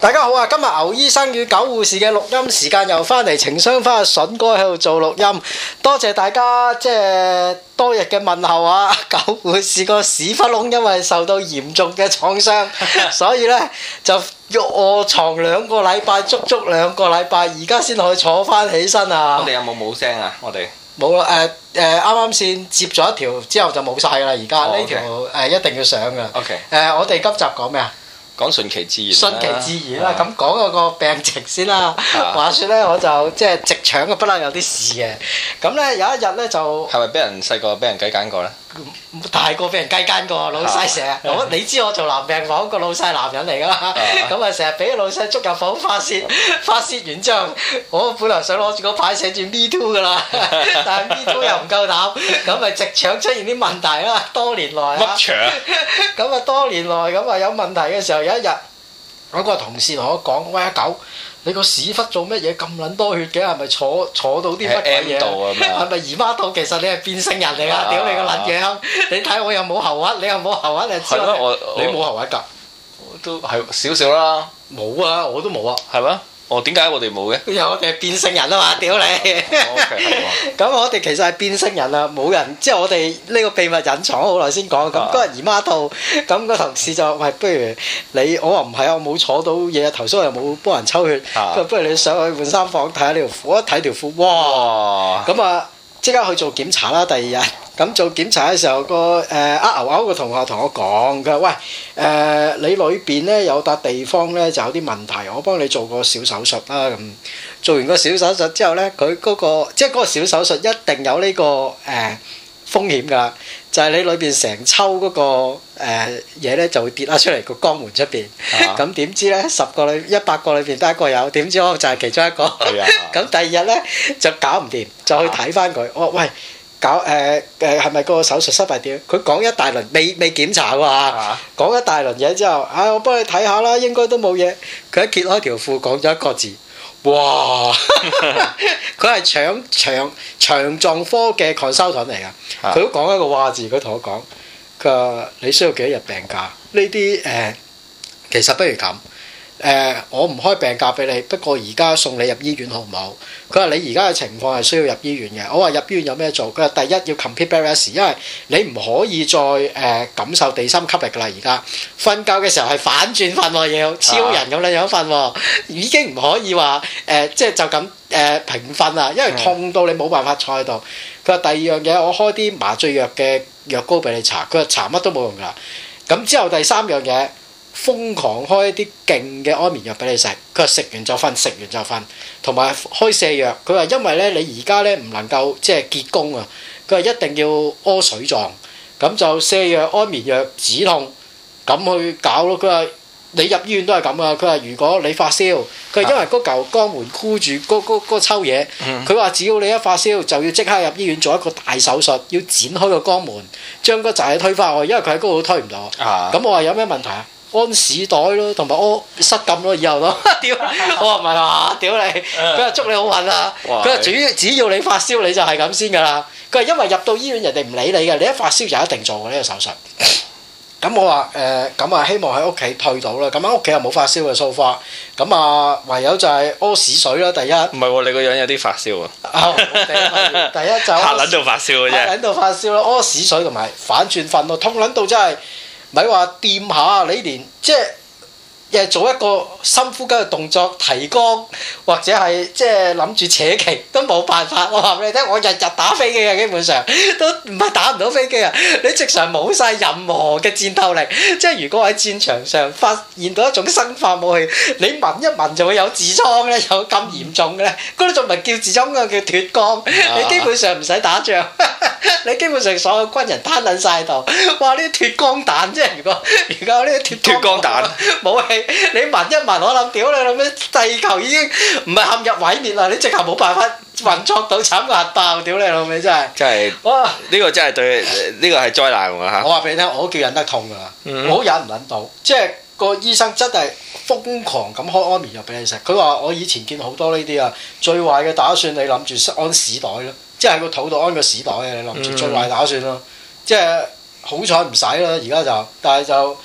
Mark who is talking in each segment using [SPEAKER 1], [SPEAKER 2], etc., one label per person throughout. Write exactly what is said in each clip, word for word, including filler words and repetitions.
[SPEAKER 1] 大家好啊！今日牛醫生與狗護士嘅錄音時間又翻嚟，情商翻阿筍哥喺度做錄音，多謝大家即係多日嘅問候啊！狗護士個屎忽窿因為受到嚴重嘅創傷，所以呢就臥床兩個禮拜，足足兩個禮拜，而家先可以坐翻起身啊！
[SPEAKER 2] 我哋有冇冇聲啊？我哋
[SPEAKER 1] 冇啦，誒誒啱啱先接咗一條之後就冇晒㗎啦，而家呢條誒一定要上㗎。
[SPEAKER 2] OK。
[SPEAKER 1] 誒，我哋今集講咩啊？
[SPEAKER 2] 講順其自然，
[SPEAKER 1] 順其自然啦，咁講嗰個病情先啦。話説咧，我就即係直腸嘅不嬲有啲事嘅。咁咧有一日咧就係
[SPEAKER 2] 咪俾人細個俾人雞姦過咧？
[SPEAKER 1] 大個俾人雞姦過，老細成日我你知我做男病房個老細男人嚟㗎嘛，咁啊成日俾老細捉入房發泄，發泄完之後，我本來想攞住個牌寫住 Me Too 㗎啦，但係 Me Too 又唔夠膽，咁咪直腸出現啲問題啦。多年來啊，
[SPEAKER 2] 乜腸？
[SPEAKER 1] 咁啊多年來咁啊有問題嘅時候，有一日我個同事同我講：喂，阿狗，你個屎忽做乜嘢咁撚多血嘅？係咪坐坐到啲乜鬼嘢？係咪姨媽肚？其實你係變性人嚟㗎！屌你個撚樣！你睇我又冇喉核，你又冇喉核，你知我你冇喉核㗎？
[SPEAKER 2] 都係少少啦。
[SPEAKER 1] 冇啊！我都冇啊。
[SPEAKER 2] 係咩？哦，點解我哋冇嘅？
[SPEAKER 1] 因為我哋係變性人啊嘛！屌你！咁我哋其實係變性人啊，冇人即係我哋呢個秘密隱藏好耐先講。咁嗰日姨媽肚，咁個同事就喂，不如你我話唔係啊，我冇坐到嘢，頭先我又冇幫人抽血。佢不如你上去換衫房睇下呢條褲，一睇條褲，哇！咁啊，即刻去做檢查啦。第二日咁做檢查嘅時候，個誒呃牛牛個同學同我講，佢話喂誒你裏邊咧有笪地方咧就有啲問題，我幫你做個小手術啦。咁做完個小手術之後咧，佢嗰個即係嗰個小手術一定有呢個誒風險㗎，就係你裏邊成抽嗰個誒嘢咧就會跌咗出嚟個肛門出邊。咁點知咧十個裏一百個裏邊得一個有，點知我就係其中一個。咁第二日咧就搞唔掂，就去睇翻佢。我話喂。搞誒誒係咪個手術失敗點？佢講一大輪，未未檢查喎嚇，講一大輪嘢之後，啊我幫你睇下啦，應該都冇嘢。佢一揭開條褲，講咗一個字，哇！佢係腸腸腸臟科嘅 consultant 嚟㗎，佢都講一個話字，佢同我講，佢話你需要幾多日病假？呢啲誒其實不如咁。誒、呃，我唔開病假俾你，不過而家送你入醫院好唔好？佢話你而家嘅情況係需要入醫院嘅。我話入醫院有咩做？佢話第一要 complete bed rest，因為你唔可以再誒、呃、感受地心吸力㗎啦。而家瞓覺嘅時候係反轉瞓喎，要超人咁樣樣瞓喎，已經唔可以話誒、呃、即係就咁誒、呃、平瞓啦，因為痛到你冇辦法坐喺度。佢話第二樣嘢，我開啲麻醉藥嘅藥膏俾你搽。佢話搽乜都冇用㗎。咁之後第三樣嘢。瘋狂開一啲勁嘅安眠藥俾你食，佢話食完就瞓，食完就瞓，同埋開瀉藥。佢話因為咧你而家咧唔能夠即係結宮啊，佢話一定要屙水狀，咁就瀉藥、安眠藥、止痛咁去搞咯。佢話你入醫院都係咁啊。佢話如果你發燒，佢話因為嗰嚿肛門箍住嗰嗰嗰抽嘢，佢話只要你一發燒就要即刻入醫院做一個大手術，要剪開個肛門，將嗰陣嘢推返去，因為佢喺嗰度都推唔到。咁我話有咩問題啊？安屎袋咯，同埋屙失禁咯，以後咯。屌，我話唔係話，屌你！佢話祝你好運啊！佢話主要只要你發燒，你就係咁先㗎啦。佢話因為入到醫院，人哋唔理你嘅，你一發燒就一定做嘅呢個手術。咁我話誒，咁啊希望喺屋企退到啦。咁喺屋企又冇發燒嘅 so far。咁啊唯有就係屙屎水啦。第一唔
[SPEAKER 2] 係喎，你個樣有啲發燒啊！
[SPEAKER 1] 第一就嚇
[SPEAKER 2] 撚到發燒嘅啫，
[SPEAKER 1] 嚇撚到發燒咯，屙屎水同埋反轉瞓咯，痛撚到真係〜咪話掂下你連即係誒做一個深呼吸嘅動作提肛，或者係即係諗住扯旗都冇辦法。我話俾你聽，我日日打飛機啊，基本上都唔係打唔到飛機啊！你直常冇晒任何嘅戰鬥力。即係如果喺戰場上發現到一種生化武器，你聞一聞就會有痔瘡咧，有咁嚴重嘅咧，嗰啲仲唔係叫痔瘡㗎，叫脫肛。你基本上唔使打仗。你基本上所有軍人攤撚曬度，哇！呢啲脫肛彈，即係如果如果呢啲脫肛彈武器，你聞一聞，我諗屌你諗咩？地球已經唔係陷入毀滅啦，你直頭冇辦法運作到，慘過核爆，屌你老味真係！真係哇！呢個真係對，呢個係災難喎嚇！我話俾你聽，我都叫忍得痛㗎啦，嗯、我忍唔忍到，即係個醫生真係瘋狂咁開安眠藥俾你食。佢話我以前見好多呢啲啊，最壞嘅打算你諗住安屎袋咯。即係喺個肚度安個屎袋嘅，你諗住最壞打算咯。嗯、即係好彩唔使啦，而家就，但係就好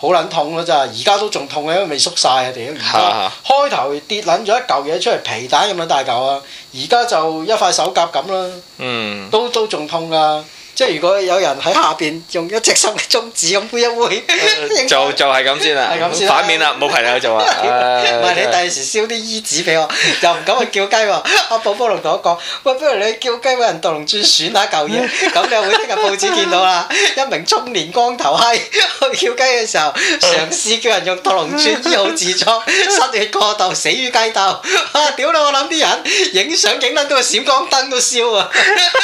[SPEAKER 1] 好撚痛咯真係，而家都仲痛嘅，因為未縮晒啊屌！而家開頭跌撚咗一嚿嘢出嚟，皮蛋咁樣大嚿啊，而家就一塊手甲咁啦，嗯，都都仲痛噶。即係如果有人喺下邊用一隻手嘅中指咁揮一揮，
[SPEAKER 2] 就就係咁先啦，反面啦，冇朋友做啊！
[SPEAKER 1] 唔係你第時燒啲衣紙俾我，又唔敢去叫雞喎。阿寶寶龍同我講：喂，不如你叫雞揾人獨龍鑽選下嚿嘢，咁你又會聽日報紙見到啦。一名中年光頭閪去叫雞嘅時候，嘗試叫人用獨龍鑽醫好痔瘡，失血過度死於雞竇。啊！屌你！我諗啲人影相影撚到個閃光燈都燒啊！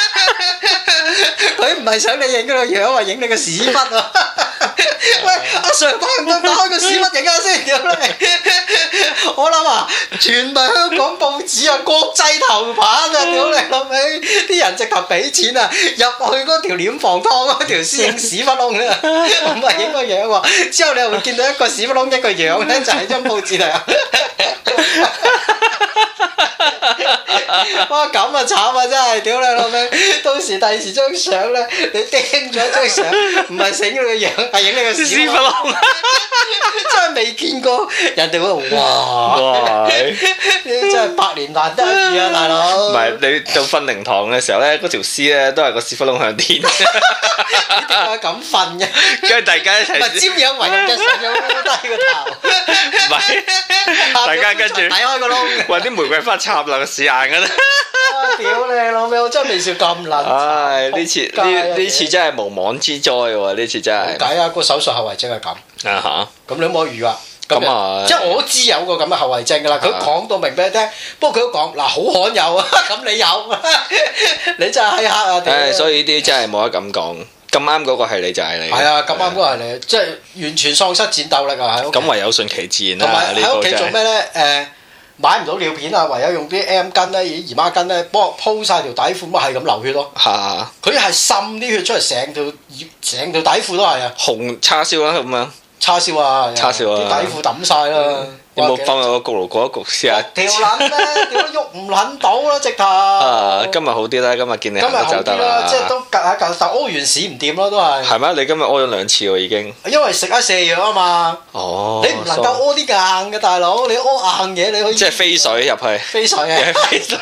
[SPEAKER 1] 佢唔係想你影嗰個樣，話影你個屎忽啊！喂，阿 Sir， 幫唔幫打開個屎忽影下先？屌你！我諗啊，全係香港報紙啊，國際頭版啊！屌你老味，啲人直頭俾錢啊，入去嗰條殮房劏嗰條屍影屎忽窿啊！唔係影個樣喎，之後你又會見到一個屎忽窿一個樣咧，就係張報紙嚟啊！哇！咁啊慘啊真係，屌你老味！到時第時張相咧，你釘咗張相，唔係影你個樣，係影你個屎忽窿。真係未見過，人哋會哇！哇！真係百年難得一遇啊，大佬！
[SPEAKER 2] 唔係你到瞓靈堂嘅時候咧，嗰條屍咧都係個屎忽窿向天。
[SPEAKER 1] 點解咁瞓嘅？
[SPEAKER 2] 跟住大家一齊。
[SPEAKER 1] 咪瞻仰為人嘅上有低個頭。
[SPEAKER 2] 唔係，大家跟住
[SPEAKER 1] 睇開個窿，
[SPEAKER 2] 揾啲玫瑰花插落個屎眼㗎啦！
[SPEAKER 1] 屌你老味，我真係未笑咁撚。
[SPEAKER 2] 唉，呢次呢呢次真係無妄之災喎！呢次真係。
[SPEAKER 1] 冇計啊！個手術後遺症係咁。啊嚇！咁你有冇預啊？
[SPEAKER 2] 咁啊，
[SPEAKER 1] 即係我都知有個咁嘅後遺症㗎啦。佢講到明俾你聽，不過佢都講嗱好罕有啊！咁你有，你真係閪黑啊！
[SPEAKER 2] 唉，所以呢啲真係冇得咁講。咁啱嗰個係你就係你。
[SPEAKER 1] 係啊，咁啱嗰個係你，即係完全喪失戰鬥力啊！喺屋企。
[SPEAKER 2] 咁唯有順其自然啦。
[SPEAKER 1] 同埋喺屋企做咩咧？誒。買唔到尿片啊，唯有用啲 M 巾咧、姨媽巾咧，幫我鋪曬條底褲，咪係咁流血咯。嚇！佢係滲啲血出嚟，成條成條底褲都係啊。
[SPEAKER 2] 紅叉燒啊咁樣。
[SPEAKER 1] 叉燒啊！
[SPEAKER 2] 叉燒啊！
[SPEAKER 1] 啲底褲抌曬啦。
[SPEAKER 2] 有冇放入個焗爐焗一焗試下？
[SPEAKER 1] 條撚咧，屌喐唔撚到啦，直頭。
[SPEAKER 2] 啊！今日好啲啦，今日見你行得走得啦。
[SPEAKER 1] 即係都隔下隔，但屙完屎唔掂咯，都係。係
[SPEAKER 2] 咩？你今日屙咗兩次喎已經。
[SPEAKER 1] 因為食咗瀉藥啊嘛。哦。你唔能夠屙啲硬嘅大佬，你屙硬嘢你可以。即係
[SPEAKER 2] 飛水入去。
[SPEAKER 1] 飛水啊！飛水。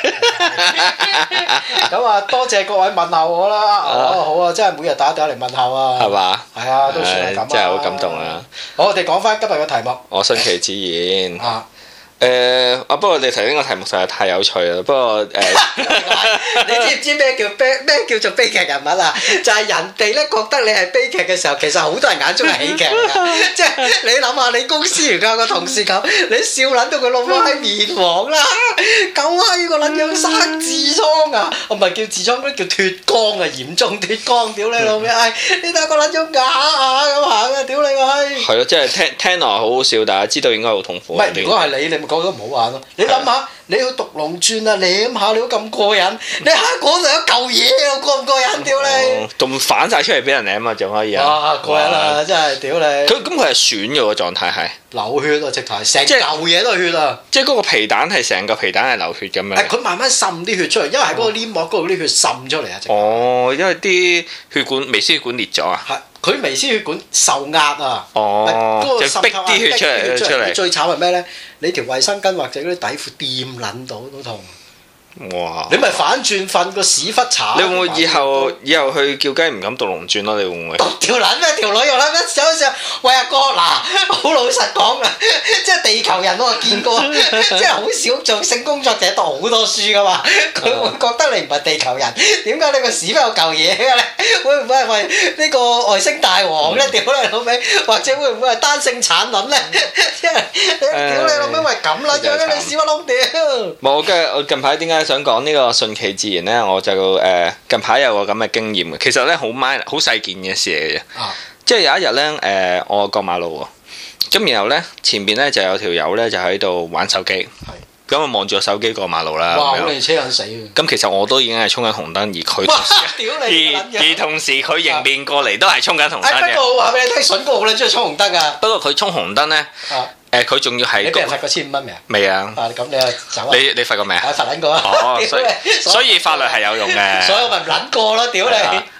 [SPEAKER 1] 咁啊，多謝各位問候我啦。哦，好啊，真係每日打電話嚟問候啊。係嘛？係啊，都算係咁啊。
[SPEAKER 2] 真係好感動啊！
[SPEAKER 1] 好，我哋講翻今日嘅題目。
[SPEAKER 2] 我順其自然。啊！誒啊！不過你頭先個題目實在太有趣啦。不過誒，
[SPEAKER 1] 你知唔知咩叫悲咩叫做悲劇人物啊？就係人哋咧覺得你係悲劇嘅時候，其實好多人眼中係喜劇㗎。即係你諗下，你公司而家個同事咁，你笑撚到佢老母喺面黃啦，狗閪個撚樣生痔瘡啊！我唔係叫痔瘡，嗰啲叫脫肛啊，嚴重脫肛，屌你老味！唉，你睇個撚樣啞啞咁行啊！屌你個閪！
[SPEAKER 2] 係咯，即係聽聽落好好笑，但係知道應該好痛苦。
[SPEAKER 1] 唔係，如果係你，你咪講得唔好玩咯。你諗下，你去獨龍鑽啊，舐下你都咁過癮，你喺嗰度有嚿嘢啊，過唔過癮？屌你！
[SPEAKER 2] 仲反晒出嚟俾人舐啊，仲可以啊！
[SPEAKER 1] 哇，過癮啊！真係屌你！
[SPEAKER 2] 佢咁佢係損嘅喎，狀態係
[SPEAKER 1] 流血啊，直頭係成嚿嘢都係血啊！
[SPEAKER 2] 即係嗰個皮蛋係成個皮蛋係流血咁樣。係
[SPEAKER 1] 佢慢慢滲啲血出嚟，因為喺嗰個黏膜嗰度啲血滲出嚟啊！
[SPEAKER 2] 哦，因為啲血管微絲血管裂咗啊！
[SPEAKER 1] 係。佢微絲血管受壓啊！
[SPEAKER 2] 哦，
[SPEAKER 1] 嗰個
[SPEAKER 2] 就逼啲血出嚟，出嚟。
[SPEAKER 1] 最慘係咩咧？你條衛生巾或者嗰啲底褲掂撚到都痛。哇！你咪反轉瞓個屎忽搽。
[SPEAKER 2] 你會唔會以後以後去叫雞唔敢獨龍鑽咯？你會唔會？
[SPEAKER 1] 條撚咩？條女又撚咩？想想喂阿哥嗱，好老實講啊，即係地球人我見過，即係好少做性工作者讀好多書噶嘛，佢會覺得你唔係地球人，點解你個屎忽有嚿嘢嘅咧？會唔會係為呢個外星大王咧？屌你老味，或者會唔會係單性產卵咧？即係屌你老味，為咁啦，將你屎忽窿屌！
[SPEAKER 2] 冇嘅，我近排點解想講呢個順其自然咧？我就誒近排有個咁嘅經驗嘅，其實咧好 minor 好細件嘅事嚟嘅。啊、即係有一日咧誒，我過馬路喎，咁然後咧前邊咧就有條友咧就喺度玩手機，咁啊望住個手機過馬路啦。
[SPEAKER 1] 哇！好你車撚死嘅。
[SPEAKER 2] 咁其實我都已經係衝緊紅燈，而佢同時而而同時佢迎面過嚟都係衝緊紅燈嘅。
[SPEAKER 1] 不過話俾你聽，筍哥好撚中意衝紅燈㗎。
[SPEAKER 2] 不過佢衝紅燈咧。啊誒佢仲要係
[SPEAKER 1] 你俾人罰過千五蚊未啊？
[SPEAKER 2] 未啊！
[SPEAKER 1] 啊咁你啊走啊！
[SPEAKER 2] 你你罰過未啊？
[SPEAKER 1] 我罰撚過啊！
[SPEAKER 2] 哦，所以所以法律係有用嘅。
[SPEAKER 1] 所以我咪唔撚過咯，屌你！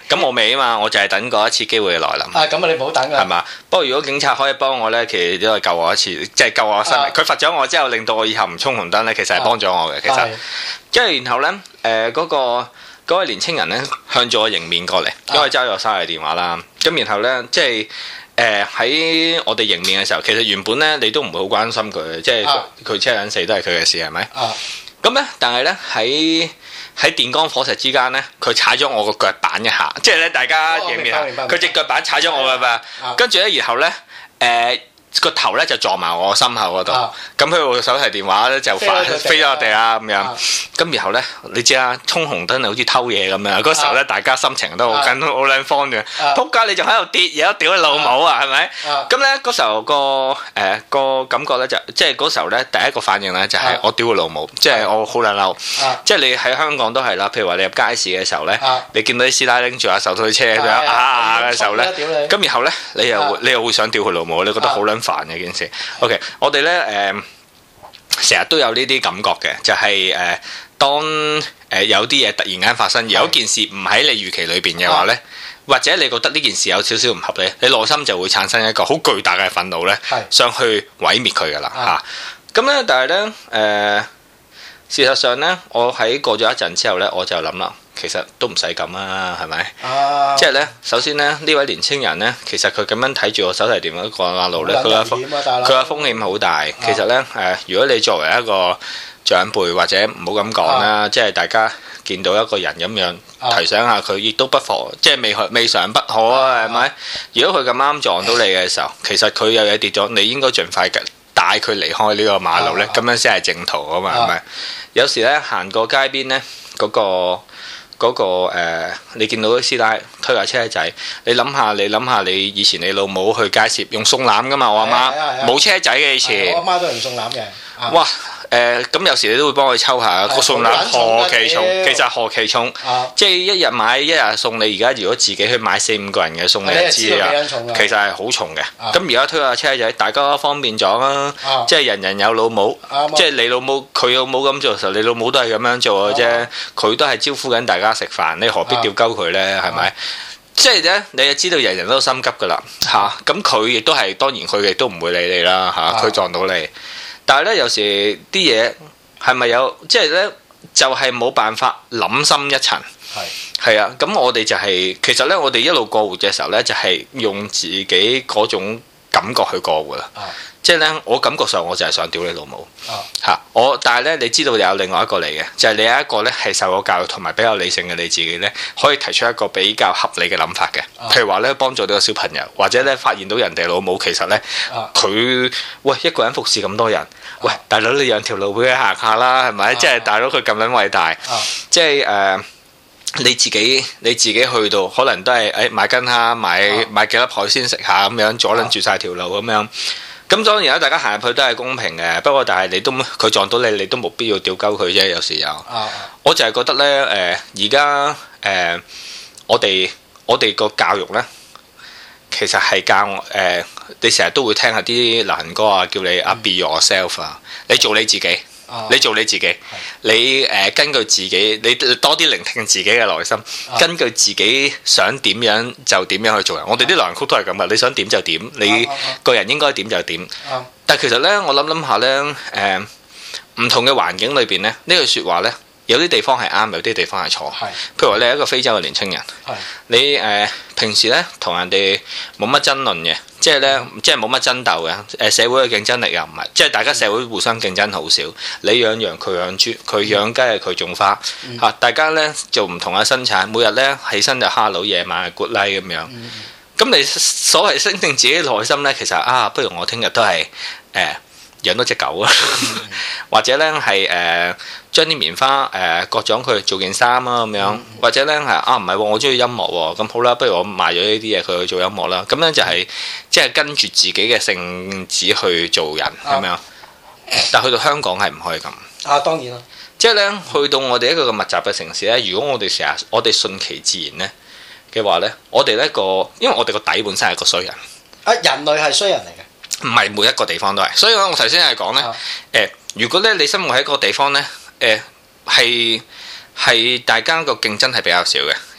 [SPEAKER 2] 咁我未啊嘛，我就係等嗰一次機會嘅來臨。
[SPEAKER 1] 啊，咁啊，你唔好等啊。
[SPEAKER 2] 係嘛？不過如果警察可以幫我咧，其實都係救我一次，即係救我生命。佢罰咗我之後，令到我以後唔衝紅燈咧，其實係幫咗我嘅。其實，跟住然後咧，誒嗰個嗰位年青人咧向咗我迎面過嚟，因為揸咗我生日電話啦。咁然後咧，即係。誒喺、呃、我哋迎面嘅時候，其實原本咧你都唔會好關心佢，即係佢車人死都係佢嘅事，係咪？咁咧、啊，但係咧喺喺電光火石之間咧，佢踩咗我個腳板一下，即係咧大家迎面，佢隻腳板踩咗我嘅嘛，跟住咧，然後咧誒。呃個頭咧就撞埋我心口嗰度，咁佢部手提電話咧就飛飛咗落地啦咁樣，咁然後咧你知啦，衝紅燈好似偷嘢咁樣，嗰時候咧大家心情都好緊好撚慌嘅，仆街你仲喺度跌嘢，屌你老母啊，係咪？咁咧嗰時候個誒個感覺咧就即係嗰時候咧第一個反應咧就係我屌佢老母，即係我好撚嬲，即係你喺香港都係啦，譬如話你入街市嘅時候咧，你見到啲師奶拎住下手推車咁樣啊嘅時候咧，咁然後咧你又會你又會想屌佢老母，你覺得好撚煩嘅件事。OK， 我哋咧誒成日都有呢啲感覺嘅，就係、是、誒、呃、當誒、呃、有啲嘢突然間發生，而有件事唔喺你預期裏邊嘅話咧，啊、或者你覺得呢件事有少少唔合理，你內心就會產生一個好巨大嘅憤怒咧，是想去毀滅佢噶啦嚇。咁咧、啊，但係咧誒事實上咧，我喺過咗一陣之後咧，我就諗啦。其實都唔使咁啊，係咪？啊、即係咧，首先咧，呢位年青人咧，其實佢咁樣睇住我手提電話過馬路咧，佢嘅風佢嘅風險好大。啊、其實咧，誒、呃，如果你作為一個長輩或者唔好咁講啦，啊、即係大家見到一個人咁樣、啊、提醒下佢，亦都不妨，即係未未嘗不可啊，係咪？啊、如果佢咁啱撞到你嘅時候，其實佢有嘢跌咗，你應該盡快帶佢離開呢個馬路咧，咁、啊、樣先係正途啊嘛，係咪？有時咧行過街邊咧，嗰、嗰個。嗰、那個、呃、你見到啲師奶推架車仔，你諗下，你諗下，你以前你老母去街市用送籃噶嘛？我阿媽冇車仔嘅以前，我阿媽都係用送籃嘅。哇！誒咁有時你都會幫佢抽下個送籃何其重，其實何其重，即係一日買一日送你。而家如果自己去買四五個人嘅送你一支啊，其實係好重嘅。咁而家推下車仔，大家方便咗啦，即係人人有老母，即係你老母佢老母咁做嘅時候，你老母都係咁樣做嘅啫。佢都係招呼緊大家食飯，你何必吊鳩佢呢？係咪？即係咧，你就知道人人都心急噶啦嚇。咁佢亦都係當然，佢亦都唔會理你啦嚇。佢撞到你。但係咧，有時啲嘢係咪有？即係咧，就係、是、冇辦法諗深一層。係係是啊，咁我哋就係、是、其實咧，我哋一路過活嘅時候咧，就係、是、用自己嗰種感覺去過活啦。啊、即係咧，我感覺上我就係想屌你老母嚇、啊、我，但係咧，你知道有另外一個嚟嘅，就係、是、你有一個咧係受過教育同埋比較理性嘅你自己咧，可以提出一個比較合理嘅諗法嘅。啊、譬如話咧，幫助到個小朋友，或者咧發現到人哋老母其實咧，佢、啊、喂一個人服侍咁多人。喂，大佬你讓條路俾佢行下啦，係咪？啊、即係大佬佢咁撚偉大，啊、即係誒、呃、你自己你自己去到，可能都係誒、哎、買斤蝦，買、啊、買幾粒海鮮食下咁樣，阻撚住晒條路咁樣。咁當然啦，大家行入去都係公平嘅，不過但係你都佢撞到你，你都冇必要屌鳩佢啫。有時有，啊、我就係覺得咧誒，而家誒我哋我哋個教育咧。其實係教我誒、呃，你成日都會聽下啲流行歌啊，叫你啊 be yourself 啊，你做你自己，啊、你做你自己，的你誒、呃、根據自己，你多啲聆聽自己嘅內心，啊、根據自己想點樣就點樣去做人。我哋啲流行曲都係咁噶，你想點就點，你個人應該點就點。啊、但係其實咧，我諗諗下咧，誒、呃、唔同嘅環境裏邊咧，呢句説話咧。有啲地方係啱，有啲地方係錯。是譬如話你係一個非洲嘅年青人，是你誒、呃、平時咧同人哋冇乜爭論嘅，即係咧、嗯、即係冇乜爭鬥嘅。誒社會嘅競爭力又唔係，即係大家社會互相競爭好少。你養羊，佢養豬，佢養雞，佢種花嚇、嗯啊。大家咧做唔同嘅生產，每日咧起身就哈佬，夜晚係 good night 咁樣。咁、嗯、你所謂聲定自己內心咧，其實啊，不如我聽日都係誒。呃養多隻狗啊，或者咧係誒將啲棉花誒、呃、割咗佢做件衫啊咁樣，嗯、或者咧係啊唔係喎，我中意音樂喎，咁好啦，不如我賣咗呢啲嘢佢去做音樂啦，咁樣就係、是、即係跟住自己嘅性子去做人咁樣。啊、但去到香港係唔可以咁啊，當然啦，即係咧去到我哋一個咁密集嘅城市咧，如果我哋成日我哋順其自然咧嘅話咧，我哋呢個因為我哋個底本身係個衰人啊，人類係衰人嚟嘅。唔係每一個地方都係，所以我頭先係講咧，誒、呃，如果咧你生活喺一個地方咧，誒係係大家個競爭係比較少嘅，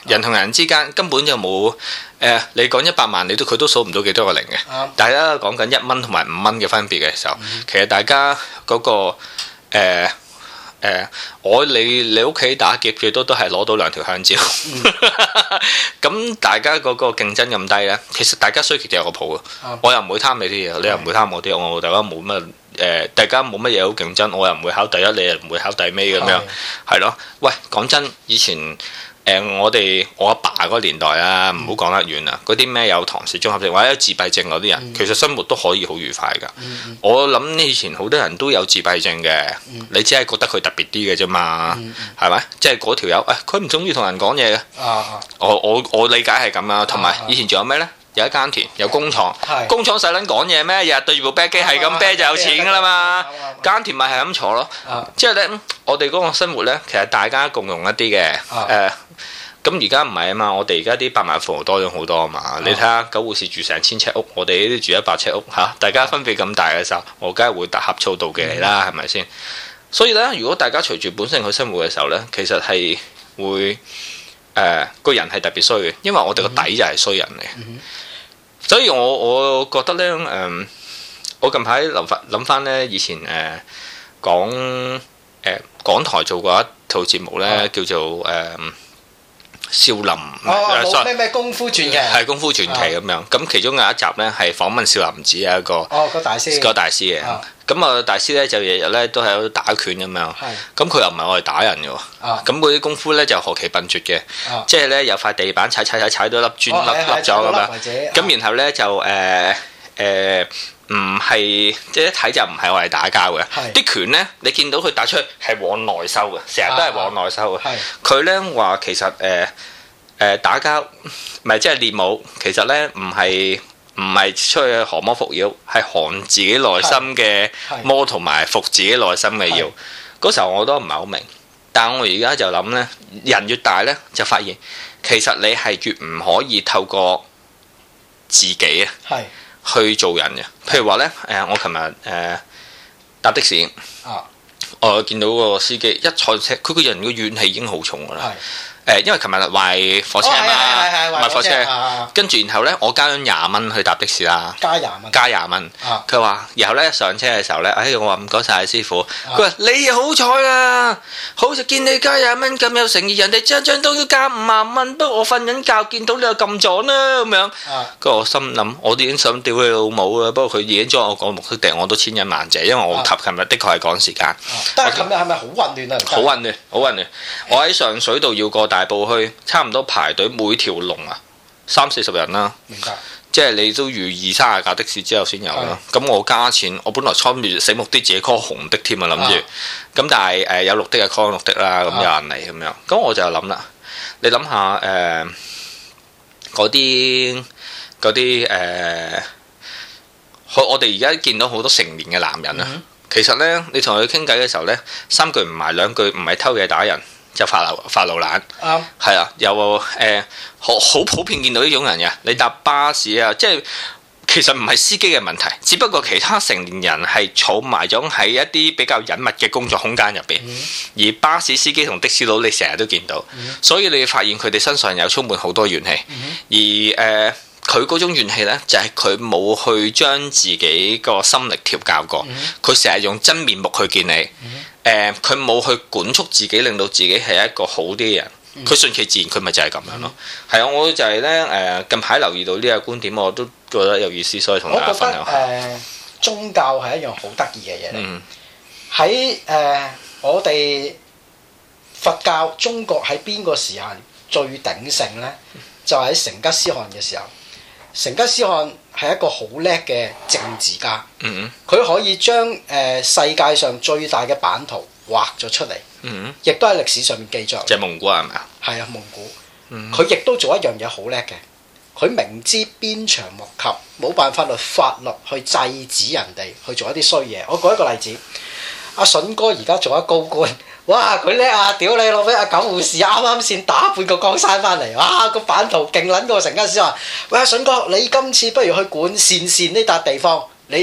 [SPEAKER 2] 人同人之間根本就冇誒、呃，你講一百萬，你都佢都數唔到幾多個零嘅。嗯、大家講緊一蚊同埋五蚊嘅分別嘅時候，嗯、其實大家嗰、嗰個誒。呃誒、呃，我你你屋企打劫最多都係攞到兩條香蕉，咁、嗯、大家嗰個競爭咁低呢，其實大家衰極就有個譜嘅，嗯、我又唔會貪你啲嘢，你又唔會貪我啲，我大家冇乜誒，大家冇乜嘢好競爭，我又唔會考第一，你又唔會考第尾咁樣，係咯、嗯？喂，講真，以前。誒、呃，我哋我阿爸嗰個年代啊，唔好講得遠啦。嗰啲咩有唐氏綜合症或者有自閉症嗰啲人，嗯、其實生活都可以好愉快㗎。嗯、我諗以前好多人都有自閉症嘅，嗯、你只係覺得佢特別啲嘅啫嘛，係咪、嗯？即係嗰條友，誒，佢唔中意同人講嘢嘅。我我我理解係咁啊。同埋以前仲有咩呢？有一耕田，有工廠，是工廠使撚講嘢咩？日日對住部啤機係咁啤就有錢㗎啦嘛。耕田咪係咁坐咯。即係呢，我哋嗰個生活呢，其實大家共用一啲嘅。誒，咁而家唔係啊嘛，我哋而家啲百萬富豪多咗好多啊嘛。啊你睇下九護士住成千尺屋，我哋呢啲住一百尺屋嚇、啊，大家分別咁大嘅時候，我梗係會呷醋妒忌你啦，係咪先？所以呢，如果大家隨住本性去生活嘅時候呢，其實係會。誒、呃、個人係特別衰嘅，因為我哋個底就係衰人嚟，嗯、哼所以我我覺得呢，誒、呃，我近排諗翻諗翻呢，以前誒、呃、講誒、呃、港台做過一套節目呢，啊、叫做誒。呃少林哦，咩咩功夫傳奇係功夫傳奇咁樣，咁其中有一集咧係訪問少林寺有一個哦個大師個大師嘅，咁啊大師咧就日日咧都喺度打拳咁樣，咁佢又唔係我哋打人嘅喎，咁嗰啲功夫咧就何其笨拙嘅，即係咧有塊地板踩踩踩踩到粒磚粒粒咗咁樣，咁然後咧就誒誒唔係即係一睇就唔係我哋打交嘅，啲拳咧你見到佢打出去係往內收嘅，成日都係往內收嘅，佢咧話其實誒。誒、呃、打交唔係即係練武，其實咧唔係唔係出去降魔伏妖，係降自己內心嘅魔同埋服自己內心嘅妖。嗰時候我都唔係好明，但係我而家就諗咧，人越大咧就發現，其實你係越唔可以透過自己啊去做人嘅。譬如話咧，誒我琴日誒搭的士，啊、我見到個司機一坐車，佢個人個怨氣已經好重㗎啦。誒，因為琴日壞火車啊嘛，壞火車，跟住然後咧，我加咗廿蚊去搭的士啦，加廿蚊，加廿蚊。佢話，然後咧一上車嘅時候咧，哎，我話唔該晒師傅。佢話你好彩啊，好似見你加廿蚊咁有誠意，人哋張張都要加五萬蚊，不過我瞓緊覺見到你又撳咗啦咁樣。跟住我心諗，我都已經想屌你老母啦，不過佢已經將我講目的地，我都千恩萬謝，因為我琴琴日的確係趕時間。但係琴日係咪好混亂啊？好混亂，好混亂。我喺上水道要過大埔去，差唔多排隊每條龍啊，三四十人啦。明白。即係你都預二三十架的士之後先有啦。咁的我加錢，我本來參住醒目啲自己 call 紅的添啊，諗住。咁但係誒、呃、有綠的嘅 call 綠的啦，咁有人嚟咁樣。咁我就諗啦，你諗下誒嗰啲嗰啲誒，我哋而家見到好多成年嘅男人啊，嗯、其實咧你同佢傾偈嘅時候咧，三句唔埋兩句唔係偷嘢打人。就發流發流懶，係啊、嗯，有誒好好普遍見到呢種人嘅。你搭巴士啊，即係其實唔係司機嘅問題，只不過其他成年人係儲埋咗喺一啲比較隱密嘅工作空間入邊，嗯、而巴士司機同的士佬你成日都見到，嗯、所以你發現佢哋身上有充滿好多怨氣，嗯、而誒。呃佢嗰種怨氣呢，就係佢冇去將自己個心力調教過，佢成日用真面目去見你，誒佢冇去管束自己，令到自己係一個好啲嘅人，佢順其自然，佢咪就係咁樣咯。係啊、嗯，我就係呢，誒、呃、近排留意到呢個觀點，我都覺得有意思，所以同大家分享下。我覺得誒、呃、宗教係一樣好得意嘅嘢嚟，喺誒、嗯呃、我哋佛教中國喺邊個時間最鼎盛呢？就喺、是、成吉思汗嘅時候。成吉思汗係一個好叻嘅政治家，佢、嗯、可以將誒、呃、世界上最大嘅版圖畫咗出嚟，嗯、亦都喺歷史上面記載。即係蒙古係咪啊？係啊，蒙古。佢亦都做一樣嘢好叻嘅，佢明知鞭長莫及，冇辦法律法律去制止人哋去做一啲衰嘢。我舉一個例子，阿筍哥而家做咗高官。哇！佢叻啊！屌你老味！阿九護士啱啱先打半個江山翻嚟，哇！個版圖勁撚過成吉思汗。喂，阿筍哥，你今次不如去管鄯善呢笪地方，你誒、呃、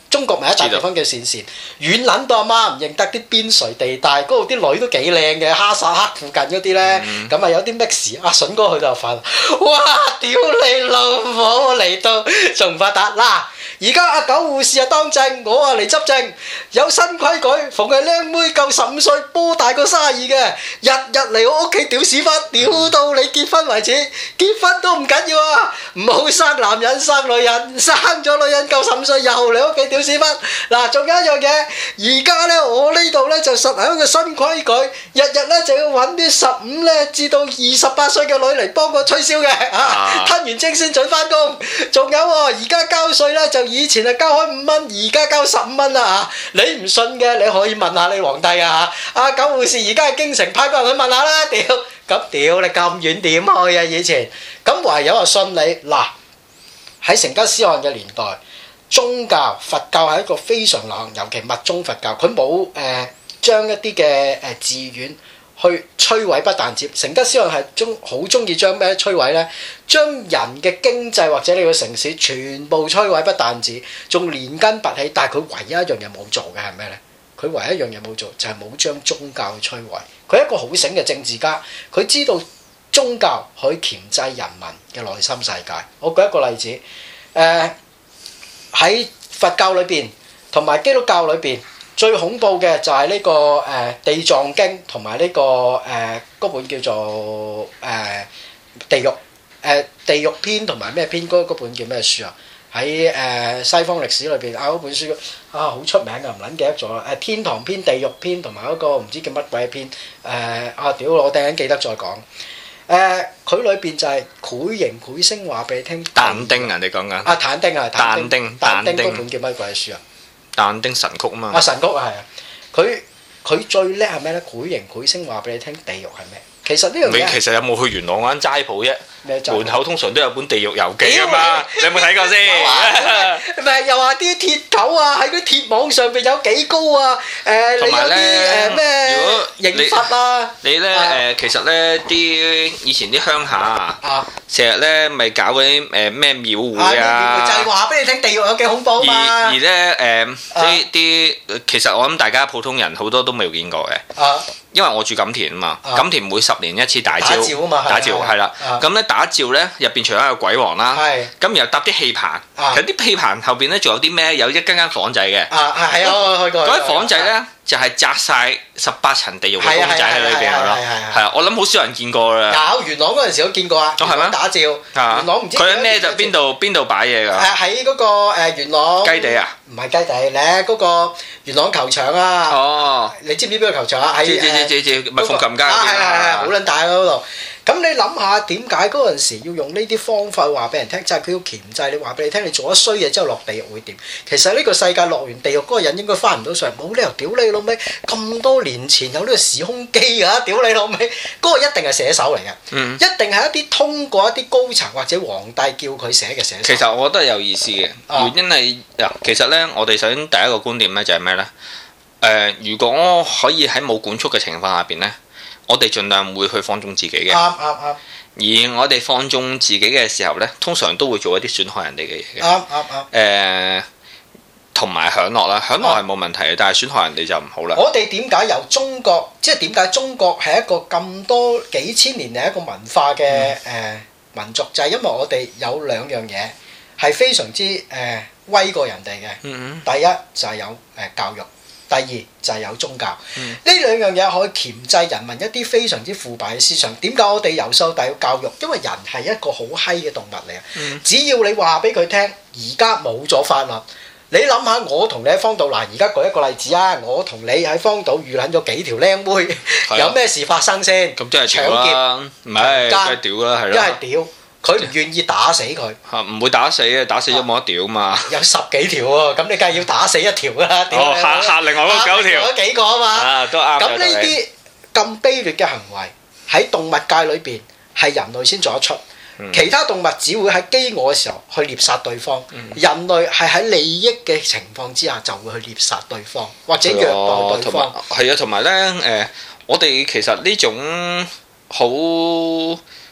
[SPEAKER 1] 中國咪一笪地方叫鄯善，遠撚到阿媽唔認得啲邊陲地帶，嗰度啲女都幾靚嘅，哈薩克附近嗰啲咧，咁啊、嗯、有啲 mix， 阿筍哥去就發，哇！屌你老母嚟到仲唔發達嗱？而家阿九護士啊當正，我啊嚟執政，有新規矩，逢係靚妹夠十五歲，波大過卅二嘅，日日嚟我屋企屌屎忽，屌到你結婚為止，結婚都唔緊要啊，唔好生男人生女人，生咗女人夠十五歲又嚟屋企屌屎忽。嗱，仲有一樣嘢，而家咧我呢度咧就實行一個新規矩，日日咧就要揾啲十五咧至到二十八歲嘅女嚟幫我吹簫嘅，啊，吞完精先準翻工。仲有喎，而家交稅咧就以前係交開五蚊，而家交十五蚊啦嚇！你唔信嘅，你可以問下你皇帝啊嚇！阿九護士而家喺京城派個人去問下啦，屌！咁屌你咁遠點去啊？以前咁唯有話信你嗱，喺成吉思汗嘅年代，宗教佛教係一個非常流行，尤其密宗佛教，佢冇誒將一啲嘅誒寺院去摧毀不但止，成吉思汗係中好中意將咩摧毀呢？將人嘅經濟或者你個城市全部摧毀不但止，仲連根拔起。但係佢唯一一樣嘢冇做嘅係咩呢？佢唯一一樣嘢冇做就係冇將宗教去摧毀。佢係一個好醒嘅政治家，佢知道宗教可以鉗制人民嘅內心世界。我舉一個例子，誒、呃、喺佛教裏邊同埋基督教裏邊。最恐怖嘅就係呢、這個誒、呃、地藏經同埋呢個誒嗰、呃、本叫做誒、呃、地獄誒、呃、地獄篇同埋咩篇嗰本叫咩書啊？喺誒、呃、西方歷史裏邊啊嗰本書啊好出名㗎，唔撚記得咗啦！誒天堂篇、地獄篇同埋嗰個唔知叫乜鬼篇誒啊屌！我突然間記得再講誒佢裏邊就係繪形繪聲話俾你聽。但丁啊，你講緊啊？但丁啊，但丁但丁嗰本叫乜鬼書啊？但丁神曲啊嘛，啊神曲啊係啊，佢佢最叻係咩咧？繪形繪聲話俾你聽，地獄係咩？其實呢樣嘢，你其實有冇去元朗嗰間齋鋪啫？門口通常都有本《地獄遊記》啊嘛，你有冇睇過先？唔係又話啲鐵狗啊，喺啲鐵網上邊有幾高啊？誒，你有啲誒咩刑罰啊？你咧誒，其實咧啲以前啲鄉下啊，成日咧咪搞嗰啲誒咩廟會啊，就係話俾你聽地獄有幾恐怖嘛。而而咧誒啲啲，其實我諗大家普通人好多都未見過嘅，因為我住錦田啊嘛，錦田每十年一次大醮，打醮係啦，咁咧打醮咧入邊除咗有鬼王啦，咁又搭啲戲棚，其實啲戲棚後邊咧仲有啲咩？有一間間房仔嘅，啊係啊，我去過。嗰啲房仔咧就係紮晒十八層地獄嘅公仔喺裏邊咯，係啊，我諗好少人見過啦。有元朗嗰陣時都見過啊，元朗打醮，元朗唔知佢喺咩就邊度邊度擺嘢㗎？喺嗰個誒元朗雞地啊，唔係雞地咧，嗰個元朗球場啊。哦，你知唔知邊個球場啊？喺誒咪鳳琴街啊，係係係，好撚大嗰度。咁你諗下點解嗰陣時要用呢啲方法話俾人聽？就係佢要鉗制你，話俾你聽，你做咗衰嘢之後落地獄會點？其實呢個世界落完地獄嗰個人應該翻唔到上嚟，冇理由屌你老味！咁多年前有呢個時空機㗎，屌你老味！嗰個一定係寫手嚟嘅，嗯、一定係一啲通過一啲高層或者皇帝叫佢寫嘅寫手。其實我覺得係有意思嘅，原因係嗱，其實咧，我哋首先第一個觀點咧就係咩咧？誒、呃，如果可以喺冇管束嘅情況下邊咧。我哋盡量會去放縱自己嘅，啱啱啱。而我哋放縱自己嘅時候呢，通常都會做一啲損害人哋嘅嘢嘅，啱啱啱。誒，同埋享樂啦，享樂係冇問題嘅，但係損害人哋就唔好啦。我哋點解由中國，即係點解中國係一個咁多幾千年嚟一個文化嘅誒、嗯呃、民族，就係、是、因為我哋有兩樣嘢係非常之誒、呃、威過人哋嘅。嗯嗯。第一就係有誒教育。第二就係有宗教，呢、嗯、兩樣嘢可以鉗制人民一啲非常之腐敗嘅思想。點解我哋由細到大要教育？因為人係一個好閪嘅動物嚟啊！嗯、只要你話俾佢聽，而家冇咗法律，你諗下，我同你喺荒島嗱，而家舉一個例子啊，我同你喺荒島遇撚咗幾條靚妹，啊、有咩事發生先？咁即係搶劫，唔係梗係屌啦，係咯，一係屌。佢唔願意打死佢，嚇唔會打死嘅，打死咗冇得屌嘛。有十幾條喎，咁你梗係要打死一條啦。哦，嚇嚇另外嗰九條，嗰幾個啊嘛。啊，都啱。咁呢啲咁卑劣嘅行為喺動物界裏邊係人類先做得出，嗯、其他動物只會喺飢餓嘅時候去獵殺對方。嗯、人類係喺利益嘅情況之下就會去獵殺對方，或者虐待對方。係啊，同埋咧誒，我哋其實呢種好。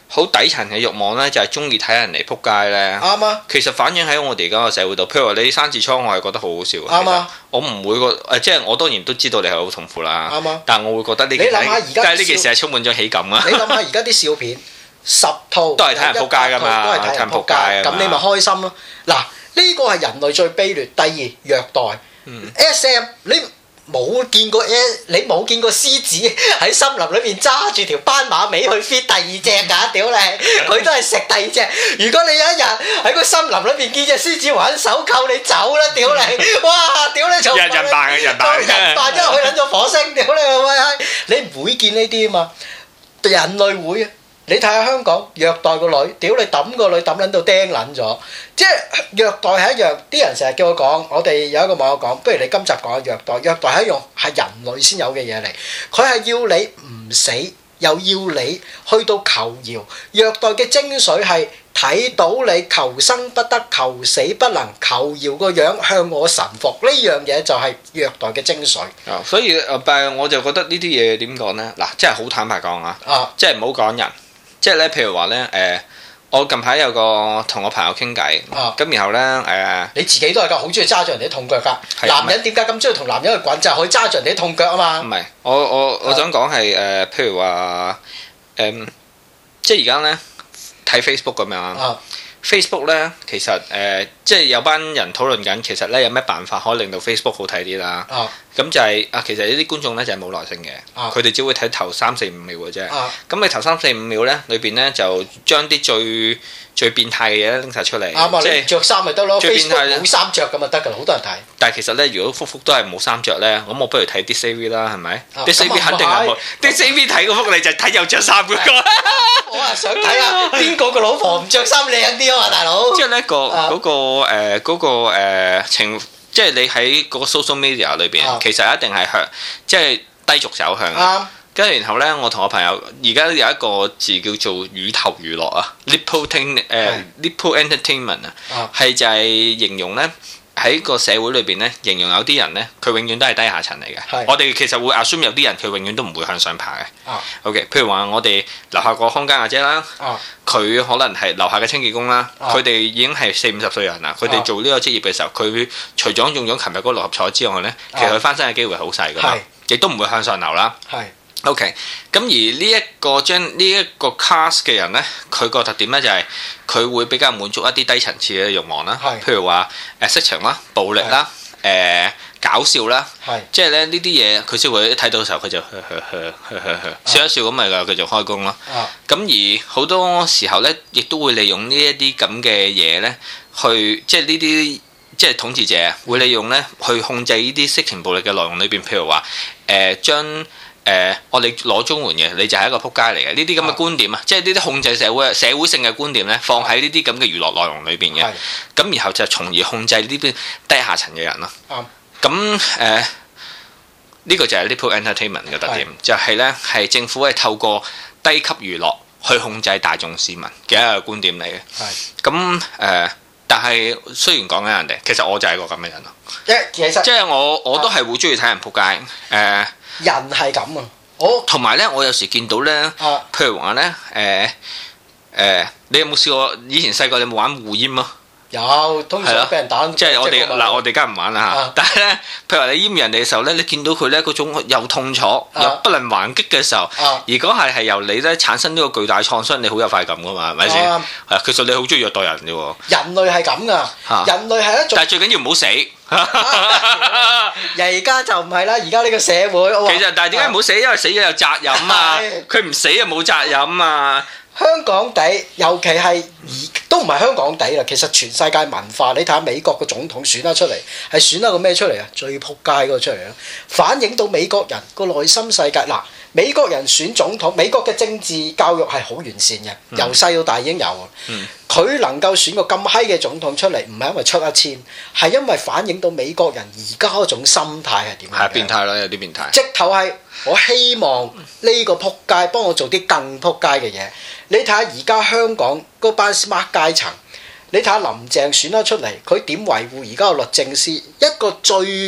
[SPEAKER 2] 好底層嘅慾望咧，就係中意睇人哋撲街咧。
[SPEAKER 1] 啱啊！
[SPEAKER 2] 其實反映喺我哋而家個社會度，譬如話你生痔瘡，我係覺得好好笑。啱啊！我唔會個誒，即係我當然都知道你係好痛苦啦。啱啊！但係我會覺得呢件，你諗下而家呢件事係充滿咗喜感啊！
[SPEAKER 1] 你諗下而家啲笑片十套
[SPEAKER 2] 都係睇人撲街㗎嘛，
[SPEAKER 1] 都係睇人撲街，咁你咪開心咯。嗱，呢個係人類最卑劣。第二虐待。S M 你。冇見過 S，你冇見過獅子喺森林裏邊揸住條斑馬尾去 fit 第二隻㗎，屌你！佢都係食第二隻。如果你有一日喺個森林裏邊見隻獅子玩手扣，你走啦，屌你！哇，屌你！
[SPEAKER 2] 人人扮嘅人扮，
[SPEAKER 1] 人扮因為佢撚咗火星，屌你喂！你唔會見呢啲啊嘛，人類會啊！你睇下香港虐待個女，屌你揼個女揼撚到釘撚咗，即係虐待係一樣。啲人成日叫我講，我哋有一個網友講，不如你今集講下虐待。虐待係一樣係人類先有嘅嘢嚟，佢係要你唔死，又要你去到求饒。虐待嘅精髓係睇到你求生不得，求死不能，求饒個樣向我臣服，呢樣嘢就係虐待嘅精髓。
[SPEAKER 2] 啊，所以誒，但係我就覺得呢啲嘢點講呢？嗱，即係好坦白講啊，即係唔好講人。即係咧，譬如話咧，誒，我近排有個同我朋友傾偈，咁然後咧，誒，
[SPEAKER 1] 你自己都係㗎，好中意揸住人哋啲痛腳㗎。男人點解咁中意同男人去滾？就係可以揸住人哋啲痛腳啊嘛。唔係，
[SPEAKER 2] 我我我想講係誒，譬如話誒，即係而家咧睇 Facebook 咁樣。Facebook 咧，其實誒、呃，即係有班人討論緊，其實咧有咩辦法可以令到 Facebook 好睇啲啦？咁、啊、就係、是、啊，其實呢啲觀眾咧就係冇耐性嘅，佢哋、啊、只會睇頭三四五秒嘅啫。咁、啊、你頭三四五秒咧，裏邊咧就將啲最最變態嘅嘢拎晒出嚟。啱啊！即係著衫咪得咯，Facebook冇衫着咁就得㗎啦，好多人睇。但係其實咧，如果幅幅都係冇衫着咧，咁我不如睇 Disney 啦，係咪？Disney 肯定係冇。Disney 睇嗰幅你就睇有着衫嗰個。
[SPEAKER 1] 我係想睇下邊個個老婆唔着衫靚啲啊嘛，大佬。
[SPEAKER 2] 即係呢個嗰個誒嗰個誒情，即係你喺嗰個 social media 裏邊，其實一定係向即係低俗走向。啱。跟住然後咧，我同我朋友而家有一個字叫做乳頭娛樂啊 ，nipple entertainment 誒 nipple entertainment 啊，係就係形容咧。喺個社會裏邊咧，形容有啲人咧，佢永遠都係低下層嚟嘅。是我哋其實會 assume 有啲人佢永遠都唔會向上爬嘅。啊、OK，譬如話我哋樓下個康家阿姐啦，佢、啊、可能係樓下嘅清潔工啦，佢哋、啊、已經係四五十歲人啦。佢哋做呢個職業嘅時候，佢除咗用咗琴日嗰六合彩之外咧，其實佢翻身嘅機會係好細㗎嘛，亦都唔會向上流啦。OK，咁而呢一個將呢一個 cast 嘅人咧，佢個特點咧就係佢會比較滿足一啲低層次嘅慾望啦，譬如話誒色情啦、暴力啦、誒搞笑啦，即係咧呢啲嘢佢先會睇到嘅時候佢就呵呵呵呵呵呵笑一笑咁咪繼續開工咯。咁而好多時候咧，亦都會利用呢一啲咁嘅嘢咧，去即係呢啲即係統治者會利用咧去控制呢啲色情暴力嘅內容裏邊，譬如話誒將。誒、呃，我哋攞綜援嘅，你就係一個撲街嚟嘅。呢啲咁嘅觀點啊，即係呢啲控制社會、社會性嘅觀點咧，放喺呢啲咁嘅娛樂內容裏邊嘅。咁是然後就從而控制呢啲低下層嘅人咯。咁誒、嗯，呢、呃這個就係 nipple entertainment 嘅特點，是就係咧係政府係透過低級娛樂去控制大眾市民嘅一個觀點嚟嘅。咁誒是、呃，但係雖然講緊人哋，其實我就係一個咁嘅人咯。其實即係我我都係會中意睇人撲街誒。呃
[SPEAKER 1] 人係咁啊！我
[SPEAKER 2] 同埋咧，我有時見到咧，啊、譬如話咧，誒、呃、誒、呃，你有冇試過以前細個你有冇玩護閹啊？
[SPEAKER 1] 有，通常俾人打。
[SPEAKER 2] 即係我哋嗱，我哋梗係唔玩啦嚇。啊、但係咧，譬如話你閹人哋嘅時候咧，你見到佢咧嗰種又痛楚、啊、又不能還擊嘅時候，啊、如果係係由你咧產生呢個巨大創傷，你好有快感噶嘛？係咪先？係啊，其實你好中意虐待人嘅喎。
[SPEAKER 1] 人類係咁噶，啊、人類係一種。
[SPEAKER 2] 但係最緊要唔好死。
[SPEAKER 1] 而家就唔係啦，而家呢個社會。其
[SPEAKER 2] 實，但係點解唔好死？因為死咗有責任啊！佢唔死就冇責任啊！
[SPEAKER 1] 香港地，尤其係而都唔係香港地啦。其實全世界文化，你睇下美國個總統選得出嚟，係選得個咩出嚟啊？最撲街嗰個出嚟啊！反映到美國人個內心世界嗱。美國人選總統，美國嘅政治教育係好完善嘅，由細到大已經有。佢、嗯、能夠選個咁閪嘅總統出嚟，唔係因為出一千，係因為反映到美國人而家嗰種心態係點樣？係變態啦，有啲變態。直頭係我希望呢個撲街幫我做啲更撲街嘅嘢。你睇下而家香港嗰班 smart 階層，你睇下林鄭選得出嚟，佢點維護而家個律政司一個最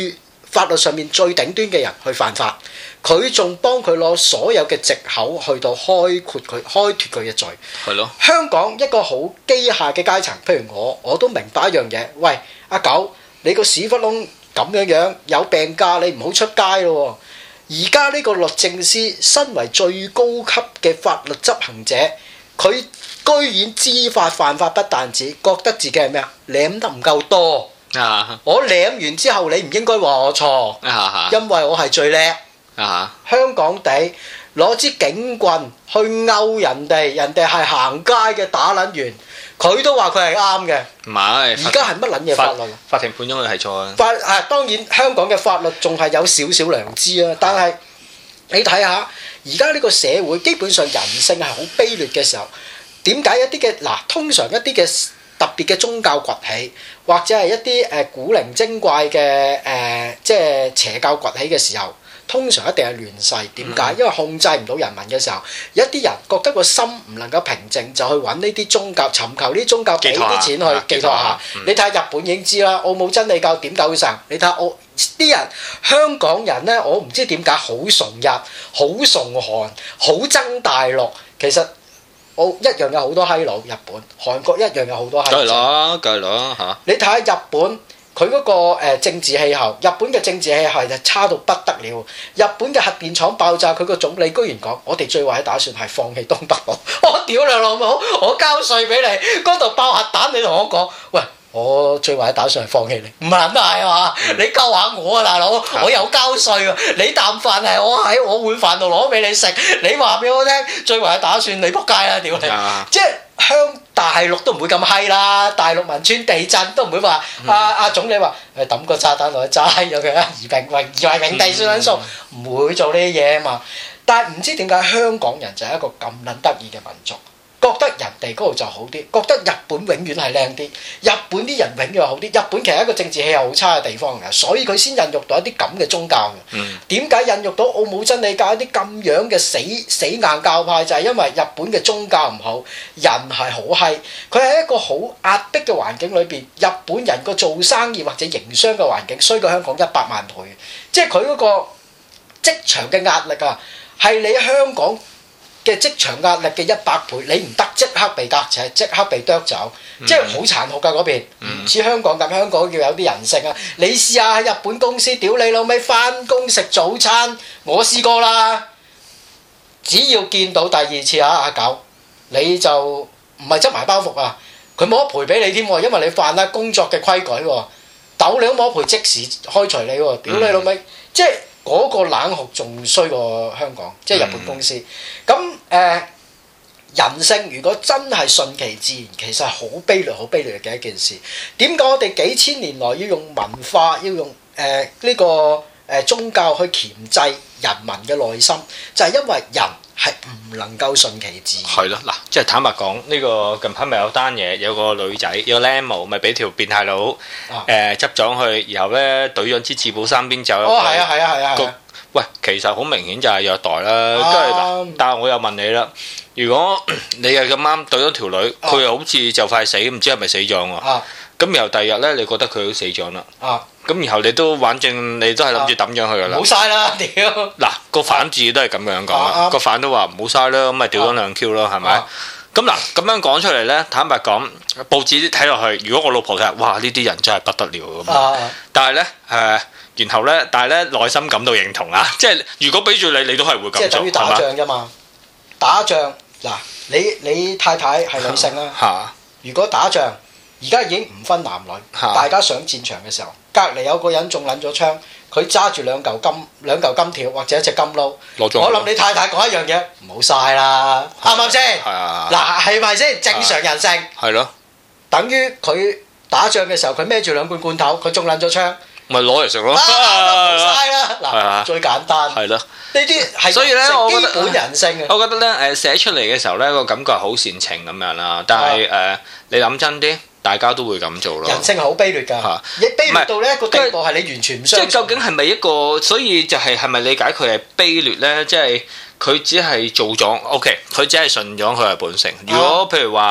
[SPEAKER 1] 法律上面最頂端嘅人去犯法，佢仲幫佢攞所有嘅藉口去到開闊佢、開脫佢嘅罪。
[SPEAKER 2] 係咯。香
[SPEAKER 1] 港一個好機械嘅階層，譬如我，我都明白一樣嘢。喂，阿狗，你個屎忽窿咁樣樣有病假，你唔好出街咯。而家呢個律政司身為最高級嘅法律執行者，佢居然知法犯法，不但止覺得自己係咩啊？舐得唔夠多。啊！我舐完之後，你唔應該話我錯。啊！因為我係最叻。啊！香港地攞支警棍去勾人哋，人哋係行街嘅打撚完，佢都話佢係啱嘅。唔係。而家係乜撚嘢法律？
[SPEAKER 2] 法庭判咗佢係錯啊！
[SPEAKER 1] 法啊，當然香港嘅法律仲係有少少良知啊，但係你睇下而家呢個社會基本上人性係好卑劣嘅時候，點解一啲嘅嗱，通常一啲嘅特別嘅宗教崛起，或者係一啲誒古靈精怪嘅誒、呃、即係邪教崛起嘅時候，通常一定係亂世。點解？因為控制唔到人民嘅時候，有一啲人覺得個心唔能夠平靜，就去揾呢啲宗教，尋求呢啲宗教俾啲錢去寄託下。你睇下日本已經知啦，奧姆真理教點救神？你睇下我啲人，香港人呢，我唔知點解好崇日、好崇韓、好憎大陸。其實我一樣有好多閪佬，日本、韓國一樣有好多閪佬。梗係啦，
[SPEAKER 2] 梗係啦嚇。
[SPEAKER 1] 你睇下日本佢嗰個誒政治氣候，日本嘅政治氣候就差到不得了。日本嘅核電廠爆炸，佢個總理居然講：我哋最壞嘅打算係放棄東北部。我屌你老母！我交稅俾你，嗰度爆核彈，你同我講，喂！我最壞打算係放棄你，唔係係嘛？你救下我啊，大佬！我有交稅喎，你啖飯係我喺我碗飯度攞俾你食，你話俾我聽，最壞打算你仆街啦，屌你！即係香大陸都唔會咁閪啦，大陸汶川地震都唔會話阿阿總理話誒抌個炸彈落去炸咗佢啊，夷平夷夷為平地算撚數，唔會做呢啲嘢啊嘛。但係唔知點解香港人就係一個咁撚得意嘅民族。覺得人哋嗰度就好啲，覺得日本永遠係靚啲，日本啲人永遠好啲。日本其實係一個政治氣候好差嘅地方嘅，所以佢先孕育到一啲咁嘅宗教嘅。點解、嗯、孕育到奧姆真理教一啲咁樣嘅死死硬教派？就係、是、因為日本嘅宗教唔好，人係好閪。佢喺一個好壓迫嘅環境裏邊，日本人個做生意或者營商嘅環境衰過香港一百萬倍。即係佢嗰個職場嘅壓力啊，係你香港嘅職場壓力嘅一百倍，你唔得即刻被革扯，即刻被剁走，嗯、即係好殘酷㗎嗰邊，唔似、嗯、香港咁，香港要有啲人性啊！你試下喺日本公司，屌你老味，返工食早餐，我試過啦。只要見到第二次啊，阿狗，你就唔係執埋包袱啊，佢冇得賠俾你添喎，因為你犯啦工作嘅規矩喎，斗你都冇得賠，即時開除你喎，屌你老味，嗯、即係。嗰個冷酷仲衰過香港，即係日本公司。咁誒、呃、人性如果真係順其自然，其實係好卑劣、好卑劣嘅一件事。點解我哋幾千年來要用文化、要用誒呢、呃這個誒、呃、宗教去鉗制人民嘅內心？就係、是、因為人係唔能夠順其自然。係咯，嗱，即係坦白講，呢、這個近排咪有單嘢，有個女仔有個僆模，咪俾條變態佬誒執咗去，然後咧懟咗支自保衫邊走。哦，係啊，係啊，係啊。個喂，其實好明顯就係虐待啦。跟住嗱，但係我又問你啦，如果你係咁啱懟咗條女，佢又好似就快死，唔知係咪死咗喎？啊！咁然後第二日咧，你覺得佢都死咗啦？啊！咁然後你都反正你都係諗住抌咗佢噶啦。冇嘥啦，屌！嗱個反字都係咁樣講啦，個反都話唔好嘥啦，咁咪屌咗兩 Q 咯，係咪？咁嗱咁樣講出嚟咧，坦白講，報紙睇落去，如果我老婆睇，哇！呢啲人真係不得了咁。但係咧誒。然後咧，但係咧內心感到認同啊！即係如果俾住你，你都係會咁做，即係等於打仗啫嘛。吧打仗嗱，你你太太係女性啦。嚇！如果打仗，而家已經唔分男女，啊、大家上戰場嘅時候，隔離有個人中撚咗槍，佢揸住兩嚿金兩嚿金條或者一隻金撈。我諗你太太講一樣嘢，唔好嘥啦，啱唔啱先？係啊！嗱，係咪先正常人性？係咯。等於佢打仗嘅時候，佢孭住兩罐罐頭，佢中撚咗槍。咪攞嚟食咯，冇嘥啦！嗱，最簡單係咯，呢啲係所以咧，我覺得基本人性嘅。我覺得咧，誒寫出嚟嘅時候咧，個感覺係好煽情咁樣啦。但係誒，你諗真啲，大家都會咁做咯。人性係好卑劣㗎，你卑劣到呢一個地步係你完全唔相信。即係究竟係咪一個？所以就係係咪理解佢係卑劣咧？即係佢只係做咗 OK，佢只係順咗佢嘅本性。如果譬如話，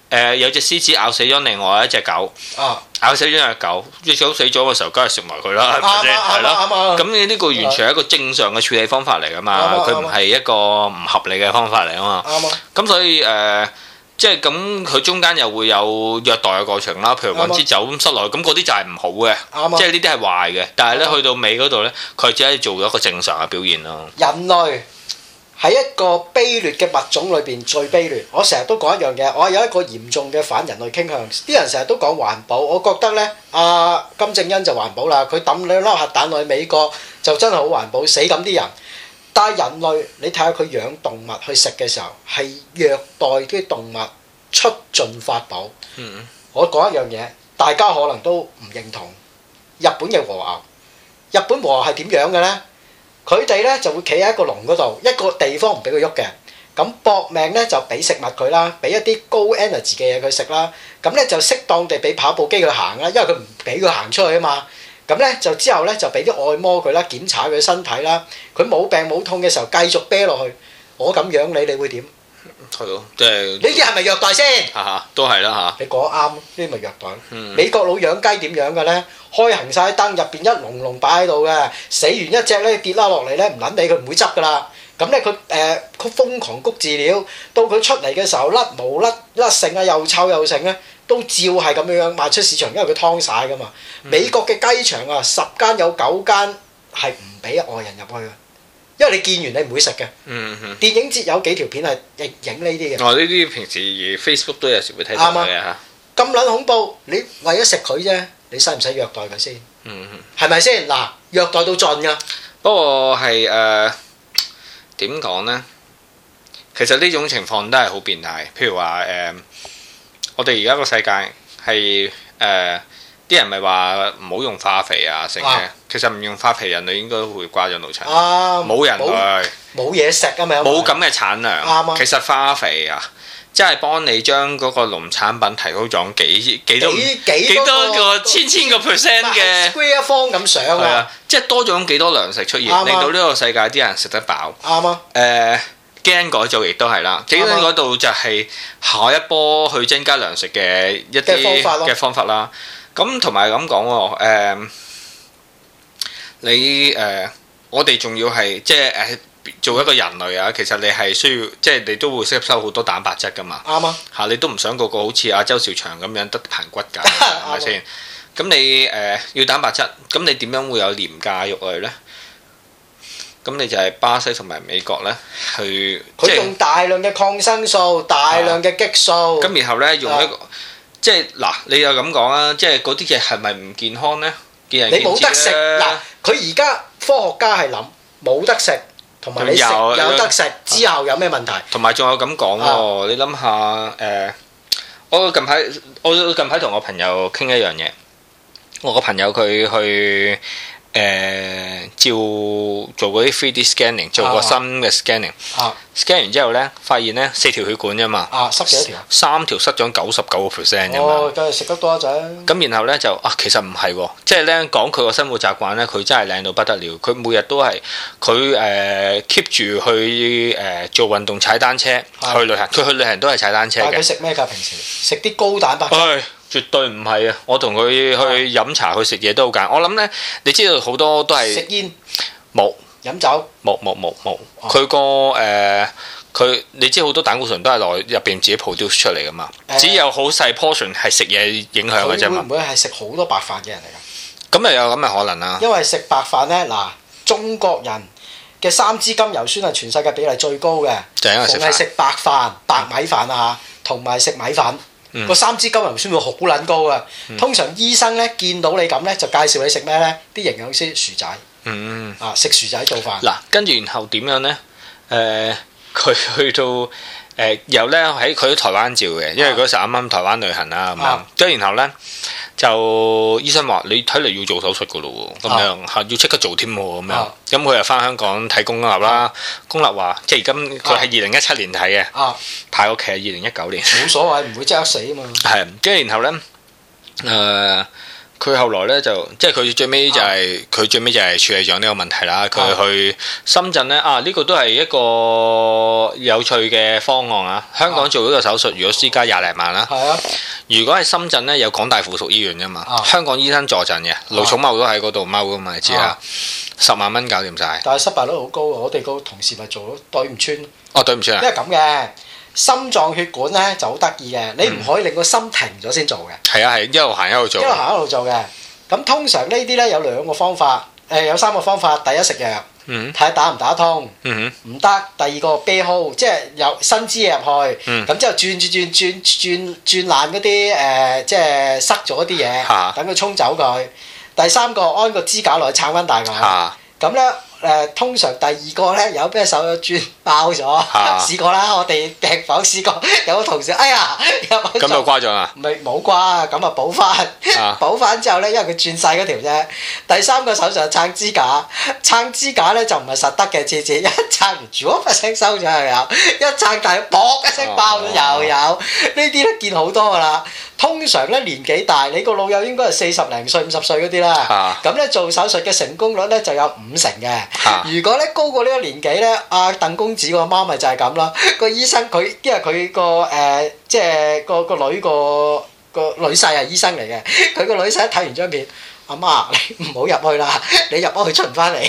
[SPEAKER 2] 誒有隻獅子咬死咗另外一隻狗，咬死咗隻狗，隻狗死咗嘅時候，梗係食埋佢啦，係咪先？係咯。咁你呢個完全係一個正常嘅處理方法嚟㗎嘛，佢唔係一個唔合理嘅方法嚟啊嘛。咁所以誒，即係咁，佢中間又會有虐待嘅過程啦，譬如揾支酒咁塞落去，咁嗰啲就係唔好嘅，即係呢啲係壞嘅。但係咧去到尾嗰度咧，佢只係做咗一個正常嘅表現咯。
[SPEAKER 1] 人類喺一個卑劣嘅物種裏邊最卑劣。我成日都講一樣嘢，我係有一個嚴重嘅反人類傾向。啲人成日都講環保，我覺得呢，阿金正恩就環保啦，佢抌兩粒核彈落去美國就真係好環保，死咁啲人。但係人類，你睇下佢養動物去食嘅時候，係虐待啲動物出盡法寶。嗯、我講一樣嘢，大家可能都唔認同。日本嘅和牛，日本和牛係點樣嘅呢？佢哋咧就會企喺一個籠嗰度，一個地方唔俾佢喐嘅，咁搏命咧就俾食物佢啦，俾一啲高 energy 嘅嘢佢食啦，咁咧就適當地俾跑步機佢行啦，因為佢唔俾佢行出去啊嘛，咁咧就之後咧就俾啲按摩佢啦，檢查佢身體啦，佢冇病冇痛嘅時候繼續啤落去，我咁養你，你會點？
[SPEAKER 2] 係咯，即係呢
[SPEAKER 1] 啲係咪虐待先？
[SPEAKER 2] 嚇嚇，都係啦嚇。
[SPEAKER 1] 你講得啱，呢啲咪虐待。嗯、美國佬養雞點樣嘅咧？開行晒燈，入邊一籠籠擺喺度嘅，死完一隻咧跌啦落嚟咧，唔撚理佢唔會執噶啦。咁咧佢誒佢瘋狂谷飼料，到佢出嚟嘅時候甩毛甩甩剩啊，又臭又剩咧，都照係咁樣樣賣出市場，因為佢劏晒噶嘛。嗯、美國嘅雞場啊，十間有九間係唔俾外人入去嘅。因為你見完你唔會食嘅，嗯嗯、電影節有幾條片係影影呢啲嘅。哦，
[SPEAKER 2] 呢啲平時 Facebook 都有時會睇到嘅嚇。
[SPEAKER 1] 咁撚恐怖，你為咗食佢啫，你使唔使虐待佢先？嗯嗯，係咪先？嗱，虐待到盡㗎。
[SPEAKER 2] 不過係誒點講呢？其實呢種情況都係好變態。譬如話誒、呃，我哋而家個世界係誒。呃啲人咪話唔好用化肥啊，成嘅。啊、其實唔用化肥，人類應該會瓜咗腦殘。冇、啊、人類，
[SPEAKER 1] 冇嘢食啊嘛。
[SPEAKER 2] 冇咁嘅產量。啊、其實化肥啊，即係幫你將嗰個農產品提高咗幾幾多幾，幾多個千千個 percent 嘅
[SPEAKER 1] square 方咁上啊。
[SPEAKER 2] 啊，即係多咗幾多糧食出現，啊、令到呢個世界啲人食得飽。
[SPEAKER 1] 啱啊。
[SPEAKER 2] 誒、呃，基因改造亦都係啦。基因嗰度就係下一波去增加糧食嘅一啲嘅方法啦。咁同埋咁講喎，誒你誒我哋仲要係即係誒做一個人類啊，其實你係需要即係你都會吸收好多蛋白質噶嘛。啱啊！嚇你都唔想個個好似阿周兆祥咁樣得棚骨㗎，係咪先？咁你誒要蛋白質，咁你點樣會有廉價肉類咧？咁你就係巴西同埋美國咧，去
[SPEAKER 1] 佢用大量嘅抗生素、大量嘅激素。
[SPEAKER 2] 咁然後咧用一個。即係嗱，你又咁講啊！即係嗰啲嘢係咪唔健康呢？見仁見智啦。你冇得食嗱，佢而家科學家係諗冇得食，同埋你食有得食之後有咩問題？同埋仲有咁講喎，你諗下誒，我近排我近排同我朋友傾一樣嘢，我個朋友佢去。誒、呃、照做嗰啲 three D scanning， 做個新嘅 scanning，scan、啊、完之後咧，發現咧四條血管啫嘛，
[SPEAKER 1] 啊塞幾多條？
[SPEAKER 2] 三條塞咗九十九個 percent 啫嘛。
[SPEAKER 1] 哦，梗係食得多一陣。咁
[SPEAKER 2] 然後咧就啊，其實唔係喎，即係咧講佢個生活習慣咧，佢真係靚到不得了。佢每日都係佢誒 keep 住去誒、呃、做運動、踩單車、的去旅行。佢去旅行都係踩單車嘅。佢食咩㗎？平時食啲高蛋白質。絕對唔係啊！我同佢去飲茶、去食嘢都好簡單。我諗咧，你知道好多都係
[SPEAKER 1] 食煙，
[SPEAKER 2] 冇
[SPEAKER 1] 飲酒，
[SPEAKER 2] 冇冇冇冇。佢個誒，佢你知好多膽固醇都係內入邊自己 produce 出嚟噶嘛？只有好細 portion 係食嘢影響嘅啫嘛。
[SPEAKER 1] 會唔會係食好多白飯嘅人嚟㗎？
[SPEAKER 2] 咁又有咁嘅可能啊？
[SPEAKER 1] 因為食白飯咧，嗱，中國人嘅三脂甘油酸係全世界比例最高嘅，
[SPEAKER 2] 就係因為食飯。
[SPEAKER 1] 係食白飯、白米飯啊，同埋食米粉。個、嗯、三脂甘油酸會好撚高啊！嗯、通常醫生咧見到你咁咧，就介紹你食咩咧？啲營養師薯仔，嗯、啊食薯仔做飯。嗱，
[SPEAKER 2] 跟住然後點樣咧？誒、呃，佢去到誒，然後咧喺佢喺台灣照嘅，因為嗰時啱啱台灣旅行啦咁樣。跟住然後咧就醫生話：你睇嚟要做手術噶咯喎，咁樣嚇要即刻做添喎咁樣。咁佢又翻香港睇公立啦，公立話即係而家佢係二零一七年睇嘅，啊、排個期係二零一九年。
[SPEAKER 1] 冇所謂，唔會即刻死啊嘛。
[SPEAKER 2] 係，跟住然後咧誒， 佢後來咧就即係佢最尾就係佢最尾就係處理咗呢個問題啦。佢去深圳咧啊，呢個都係一個有趣嘅方案啊！香港做呢個手術，如果私家廿零萬啦。係啊。如果喺深圳咧有港大附屬醫院㗎嘛，香港醫生坐鎮嘅，盧寵茂都喺嗰度踎㗎嘛，你知啦。十萬蚊搞掂晒。但係失敗率好高啊！我哋個同事咪做咗對唔穿。哦，對唔穿啊！因為咁嘅。心臟血管咧就好得意嘅，你唔可以令個心停咗先做嘅。係啊係，一路行一路做。一路行一路做嘅。咁通常呢啲咧有兩個方法，誒有三個方法。第一食藥，睇下打唔打通。唔得。第二個啤號，即係有新支嘢入去，咁之後轉轉轉轉轉轉爛嗰啲誒，即係塞咗啲嘢，等佢沖走佢。第三個安個支架落去撐翻大佢。咁咧。誒通常第二個咧有咩手有轉爆咗，試過啦，我哋病房試過有個同事，哎呀入去咁就瓜咗啦，咪冇瓜，咁啊補翻，補翻之後咧，因為佢轉細嗰條啫。第三個手術係撐支架，撐支架咧就唔係實得嘅，次次一撐完，住一聲收咗又有，一撐大砰一聲爆咗又有，呢啲咧見好多㗎啦。通常咧年紀大，你個老友應該係四十零歲、五十歲嗰啲啦。咁咧做手術嘅成功率咧就有五成嘅。如果咧高過呢個年紀咧，阿鄧公子個媽咪就係咁啦。個醫生佢因為佢個誒即係個個女個個女婿係醫生嚟嘅，佢個女婿一睇完張片，阿媽你唔好入去啦，你入咗去出唔翻嚟。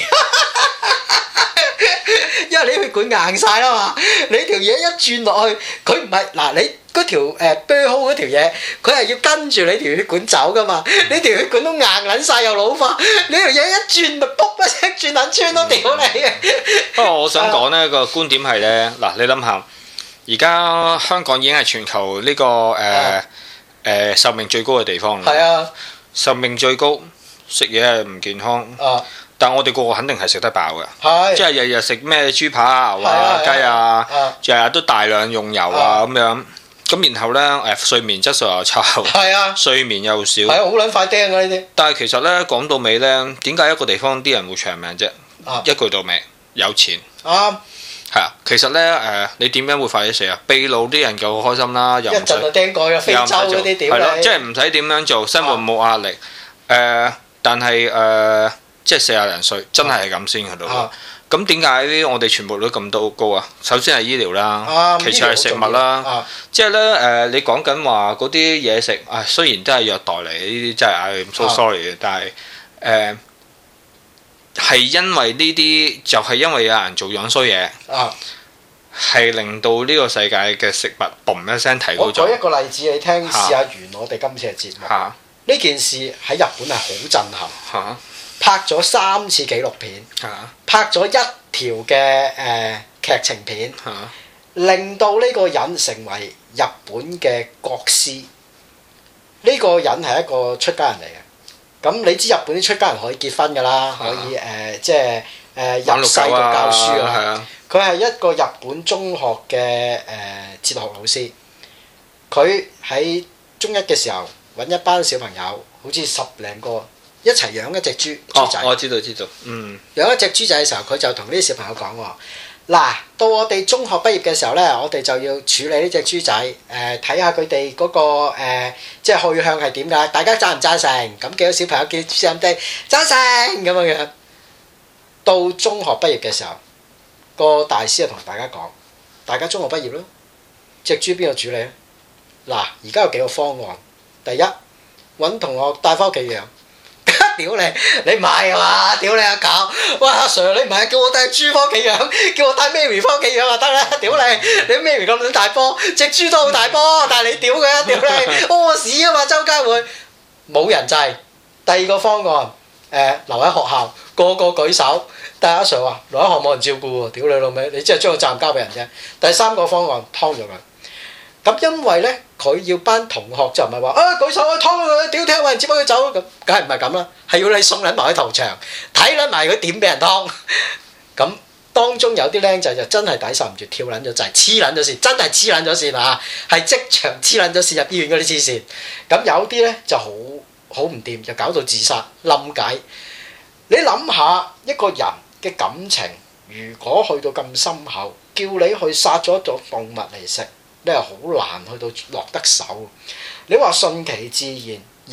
[SPEAKER 2] 因為你血管硬曬啦嘛，你條嘢一轉落去，佢唔係嗱你嗰條誒啤好嗰條嘢，佢係要跟住你條血管走噶嘛，你條血管都硬撚曬又老化，你條嘢一轉咪卜一聲轉撚穿咯，屌你嘅！不過我想講呢個觀點係咧，嗱你諗下，而家香港已經係全球呢個誒誒壽命最高嘅地方啦。係啊，壽命最高，食嘢係唔健康。啊！但我哋個個肯定係食得飽嘅，即係日日食咩豬扒啊、牛啊、雞啊，日日都大量用油啊咁樣，咁然後咧誒睡眠質素又差，睡眠又少，係啊，好撚快釘啊呢啲。但係其實咧講到尾咧，點解一個地方啲人會長命啫？一句到尾，有錢。啱。係啊，其實咧誒，你點樣會快啲死啊？秘魯啲人就好開心啦，又唔使。一陣就釘過嘅非洲嗰啲屌你。係咯，即係唔使點樣做，生活冇壓力。誒，但係誒。即係四廿零歲，真係係咁先去到。咁點解我哋全部都咁多高啊？首先係醫療啦，啊、其次係食物啦。啊、即係咧誒，你講緊話嗰啲嘢食，啊雖然都係虐待嚟，呢啲真係唉 so sorry 嘅，但係誒係因為呢啲就係、是、因為有人做樣衰嘢，係、啊、令到呢個世界嘅食物嘣一聲提高咗。我舉一個例子你聽，試下完我哋今次嘅節目。呢、啊、件事喺日本係好震撼。啊拍咗三次紀錄片，啊、拍咗一條嘅誒、呃、劇情片，啊、令到呢個人成為日本嘅國師。呢、這個人係一個出家人嚟嘅。咁你知日本啲出家人可以結婚㗎啦，啊、可以誒、呃、即係誒、呃、入世度教書啊。佢係一個日本中學嘅誒、呃、哲學老師。佢喺中一嘅時候揾一班小朋友，好似十零個。一齊養一隻豬豬仔。哦，我知道知道。嗯。養一隻豬仔嘅時候，佢就同呢啲小朋友講喎：嗱，到我哋中學畢業嘅時候咧，我哋就要處理呢隻豬仔，誒睇下佢哋嗰個誒、呃、即係去向係點㗎？大家贊唔贊成？咁幾個小朋友叫豬仔哋贊成咁樣樣。到中學畢業嘅時候，個大師就同大家講：大家中學畢業咯，隻豬邊個處理咧？嗱，而家有幾個方案。第一，揾同學帶翻屋企養。屌你！你唔係啊嘛？屌你阿狗！喂阿 Sir，你唔係叫我帶豬翻屋企養，叫我帶 Mary 翻屋企養就得啦！屌你！你 Mary 咁撚大波，隻豬都好大波，但係你屌佢！屌你！屙屎啊嘛，周街會冇人制。第二個方案，誒、呃、留喺學校，個個舉手。但係阿 Sir 話留喺學校冇人照顧喎，屌你老味！你即係將個責任交俾人啫。第三個方案，劏咗佢。咁因為咧，佢要班同學就唔係話啊舉手啊劏佢，屌聽話人接翻佢走咁，梗係唔係咁啦？係要你送撚埋去屠場，睇撚埋佢點俾人劏。咁當中有啲僆仔就真係抵受唔住，跳撚咗掣，黐撚咗線，真係黐撚咗線啊！係即場黐撚咗線入醫院嗰啲黐線。咁有啲咧就好好唔掂，就搞到自殺冧解。你諗下一個人嘅感情，如果去到咁深厚，叫你去殺咗一種動物嚟食。你係好難去到落得手。你話順其自然，人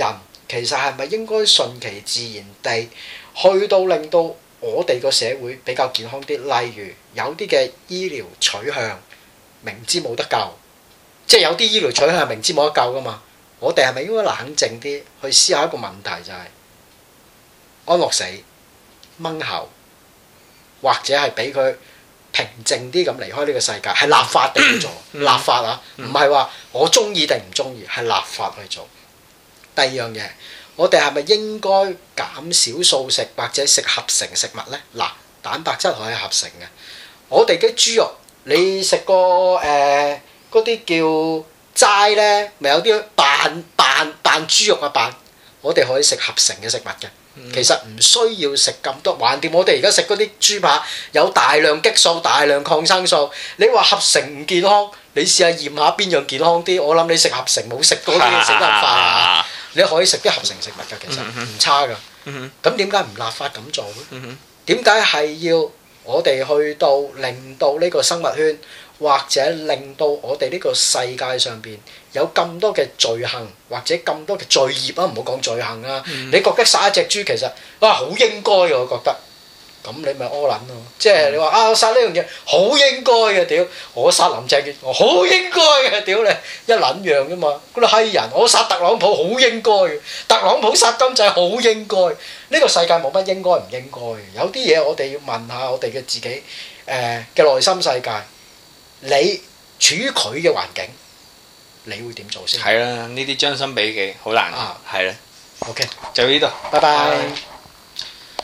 [SPEAKER 1] 其實係咪應該順其自然地去到令到我哋個社會比較健康啲？例如有啲嘅醫療取向明知冇得救，即係有啲醫療取向係明知冇得救噶嘛。我哋係咪應該冷靜啲去思考一個問題，就係安樂死、掹喉，或者係俾佢平靜啲咁離開呢個世界，係立法地去做，立法啊，唔係話我中意定唔中意，係立法去做。第二樣嘢，我哋係咪應該減少素食或者食合成食物呢？嗱，蛋白質可以合成嘅。我哋嘅豬肉，你食過誒嗰啲叫齋呢，咪有啲扮扮扮豬肉啊扮，我哋可以食合成嘅食物嘅。其實唔需要食咁多，橫掂我哋而家食嗰啲豬扒有大量激素、大量抗生素。你話合成唔健康，你試下驗下邊樣健康啲。我諗你食合成冇食嗰啲食得快啊！你可以食啲合成食物㗎，其實唔差㗎。咁點解唔立法咁做咧？點解係要我哋去到令到呢個生物圈，或者令到我哋呢個世界上邊有咁多嘅罪行，或者咁多嘅罪孽啊？唔好講罪行啊！嗯、你覺得殺一隻豬其實啊好應該嘅，我覺得。咁你咪屙撚咯！即係你話啊，殺呢樣嘢好應該嘅，屌！我殺林鄭月娥好應該嘅，屌你一撚樣啫嘛！嗰啲閪人，我殺特朗普好應該嘅，特朗普殺金仔好應該。呢、呢個世界冇乜應該唔應該嘅，有啲嘢我哋要問下我哋嘅自己誒嘅內心世界。你處於佢嘅環境，你會點做先？
[SPEAKER 2] 係啦，呢啲將心比己好難。啊，係啦。
[SPEAKER 1] OK，
[SPEAKER 2] 就呢度，
[SPEAKER 1] 拜拜。